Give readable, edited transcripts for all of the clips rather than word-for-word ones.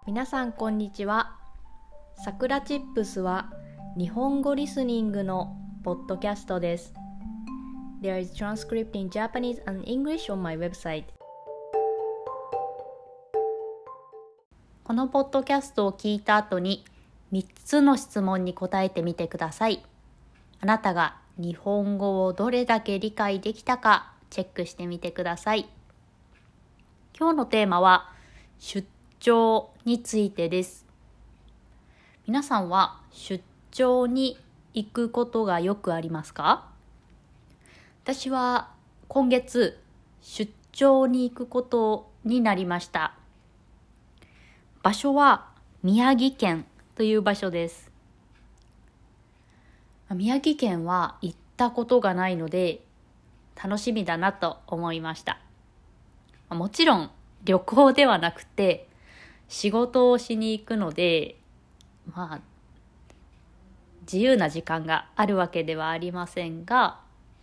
皆さんこんにちは。さくらチップスは日本語リスニングのポッドキャストです。There is transcript in Japanese and English on my website. このポッドキャストを聞いた後に3つの質問に答えてみてください。あなたが日本語をどれだけ理解できたかチェックしてみてください。今日のテーマは出張についてです。皆さんは出張に行くことがよくありますか？私は今月出張に行くことになりました。場所は宮城県という場所です。宮城県は行ったことがないので楽しみだなと思いました。もちろん旅行ではなくて仕事をしに行くので、自由な時間があるわけではありませんが、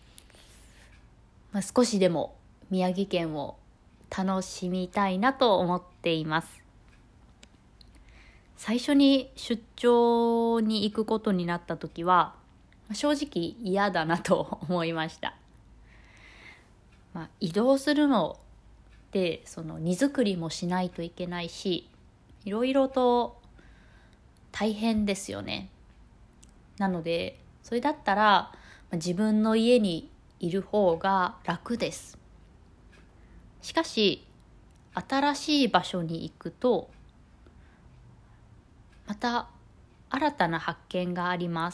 少しでも宮城県を楽しみたいなと思っています。最初に出張に行くことになった時は正直嫌だなと思いました。移動するので荷造りもしないといけないし、いろいろと大変ですよね。なのでそれだったら自分の家にいる方が楽です。しかし新しい場所に行くとまた新たな発見があります。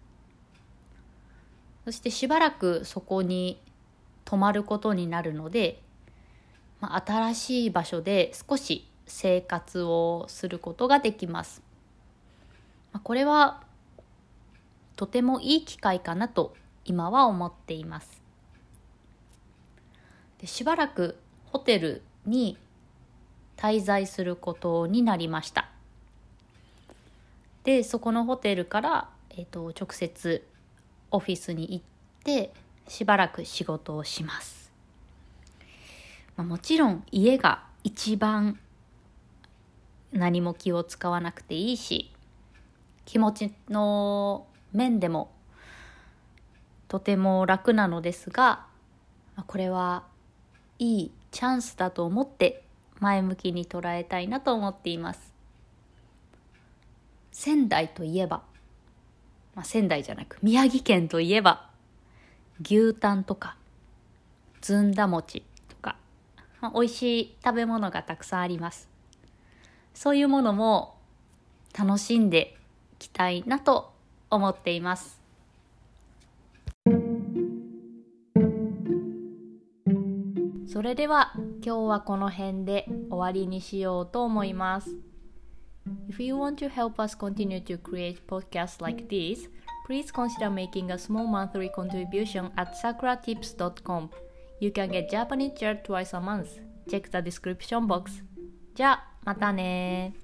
そしてしばらくそこに泊まることになるので、新しい場所で少し生活をすることができます。これはとてもいい機会かなと今は思っています。しばらくホテルに滞在することになりました。で、そこのホテルから、直接オフィスに行ってしばらく仕事をします。もちろん家が一番何も気を使わなくていいし、気持ちの面でもとても楽なのですが、これはいいチャンスだと思って前向きに捉えたいなと思っています。仙台といえば、仙台じゃなく宮城県といえば牛タンとかずんだ餅とか、美味しい食べ物がたくさんあります。そういうものも楽しんでいきたいなと思っています。それでは今日はこの辺で終わりにしようと思います。If you want to help us continue to create podcasts like this, please consider making a small monthly contribution at sakuratips.com. You can get Japanese chat twice a month. Check the description box. じゃあまたね。